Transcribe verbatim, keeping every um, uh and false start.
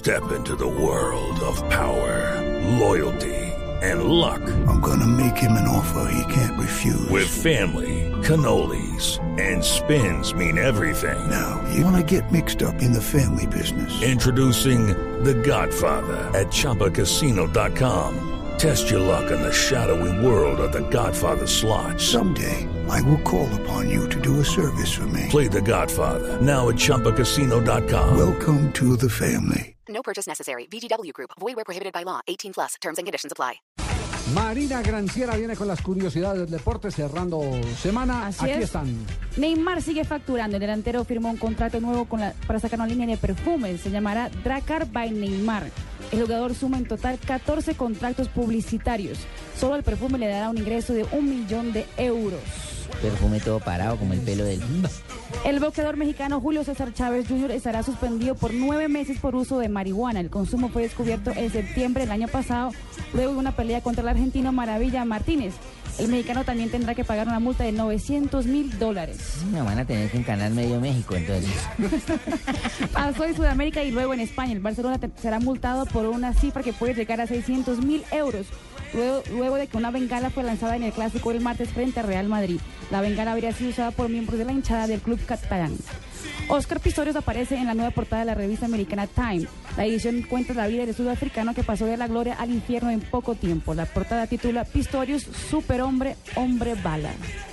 Step into the world of power, loyalty, and luck. I'm gonna make him an offer he can't refuse. With family, cannolis, and spins mean everything. Now, you wanna get mixed up in the family business. Introducing The Godfather at Chumba Casino dot com. Test your luck in the shadowy world of The Godfather slot. Someday, I will call upon you to do a service for me. Play The Godfather, now at Chumba Casino dot com. Welcome to the family. No purchase necessary. V G W Group. Void where prohibited by law. eighteen plus. Terms and conditions apply. Marina Granciera viene con las curiosidades del deporte cerrando semana. Así Aquí es. están. Neymar sigue facturando. El delantero firmó un contrato nuevo con la, para sacar una línea de perfumes. Se llamará Drakkar by Neymar. El jugador suma en total catorce contratos publicitarios. Solo el perfume le dará un ingreso de un millón de euros. Perfume todo parado como el pelo del... El boxeador mexicano Julio César Chávez junior estará suspendido por nueve meses por uso de marihuana. El consumo fue descubierto en septiembre del año pasado, luego de una pelea contra el argentino Maravilla Martínez. El mexicano también tendrá que pagar una multa de novecientos mil dólares. Me van a tener que encanar medio México, entonces. Pasó en Sudamérica y luego en España. El Barcelona te- será multado por una cifra que puede llegar a seiscientos mil euros. Luego, luego de que una bengala fue lanzada en el clásico el martes frente a Real Madrid. La bengala habría sido usada por miembros de la hinchada del club catalán. Oscar Pistorius aparece en la nueva portada de la revista americana Time. La edición cuenta la vida del sudafricano que pasó de la gloria al infierno en poco tiempo. La portada titula Pistorius, superhombre, hombre bala.